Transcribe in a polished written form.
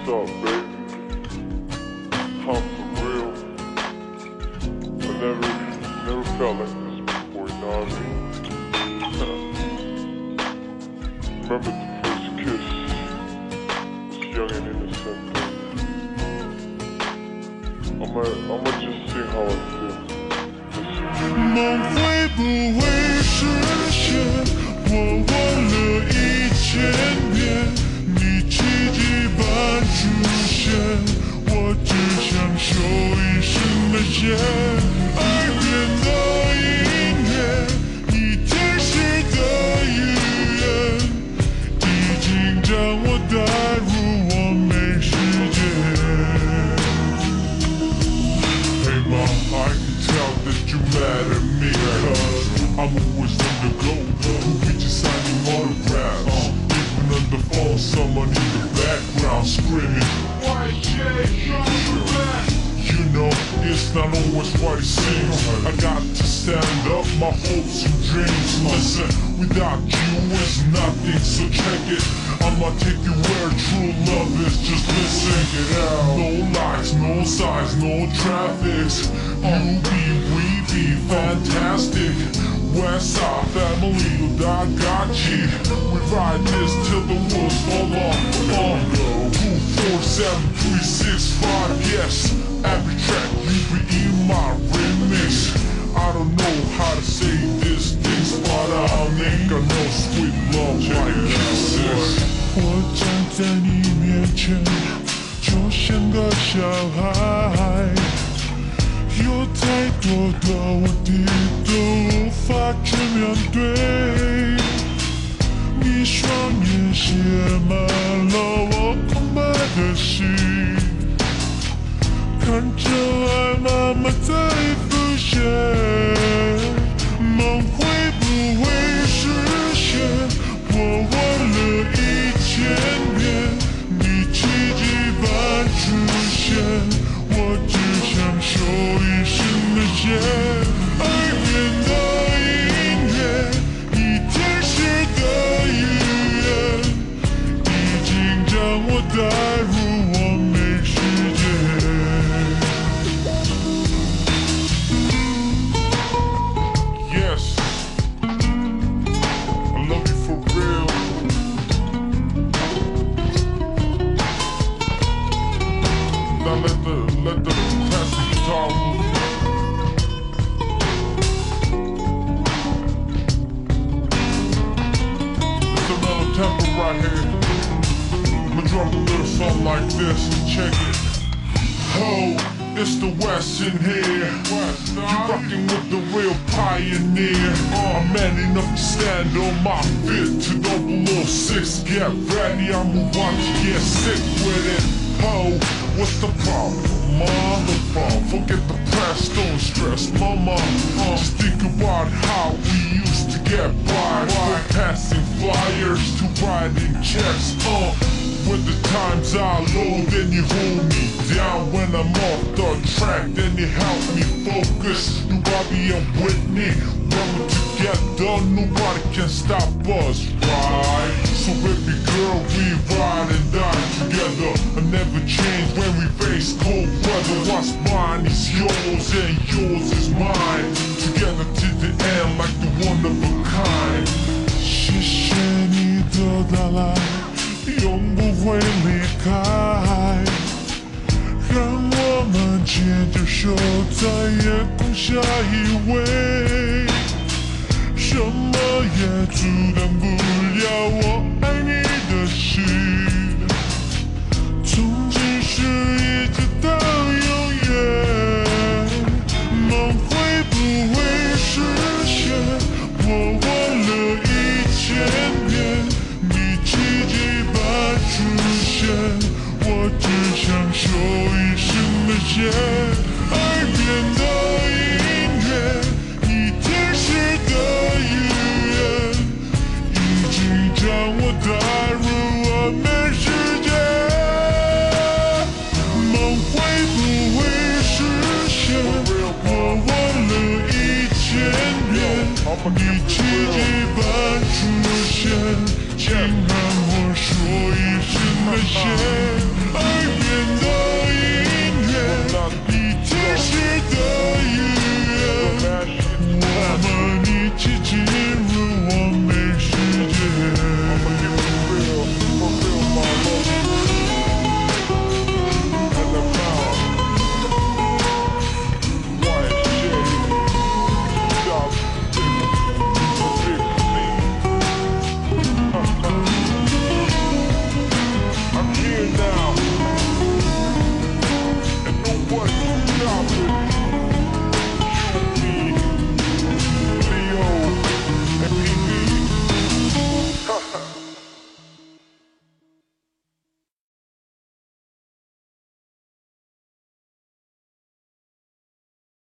What's up, baby? I'm for real. I never felt like this before, you know what I mean? Remember the first kiss? It's young and innocent. I'ma just see how I feel. 梦会不会实现？我问了1000遍，你奇迹般出现，我只想说一声的谢。耳边的音乐，你天使的语言，已经将我带入完美世界。Hey ma, I can tell that you mad at me, cause I'm always on the go. Who be just signing autographs? Even on the phone, someone in the background screaming, YJ, come back. You know, it's not always what it seems. I got to stand up, my hopes and dreams. Listen, without you it's nothing, so check it. I'ma take you where true love is, just listen it out. No lies, no signs, no traffics. You be, we be fantastic. Westside family, I got you. We ride this till the wheels fall off. 247-365, yes. Every track you be in my remix. I don't know how to say this things, but I think I know sweet love like kisses. 我站在你面前，就像个小孩，有太多的问题都无法去面对。你双眼写满了我空白的心，看着爱慢慢在浮现，梦会不会实现？我问了1000遍，你奇迹般出现，我只想说一声的谢。耳边的音乐，你天使的语言，已经将我带入完美世界。Yes, I love you for real. Now let the classic guitar move. It's a mellow tempo right here. I'ma drop a little something like this. Check it. Ho, it's the West in here. You rockin' with the real pioneer. I'm man enough to stand on my feet to 006. Get ready, I'm about to get sick with it. Ho, what's the problem, mom? Forget the past, don't stress, mama. Just think about how we used to get by. From passing flyers to writing checks. When the times are low, then you hold me down. When I'm off the track, then you help me focus. You Bobby and Whitney, when we're together, nobody can stop us, right? So baby girl, we ride and die together. I never change when we face cold weather. What's mine is yours and yours is mine. Together to the end like the one of a kind. 谢谢你的到来，永不会离开，让我们牵着手在夜空下依偎，什么也阻挡不了我爱你的心，从今世一直到永远，梦会不会实现？我问了1000遍，你奇迹般出现，我只想说一声的谢。耳边的音乐，你天使的语言，已经将我带入完美世界。梦会不会实现？我问了1000遍，你奇迹般出现。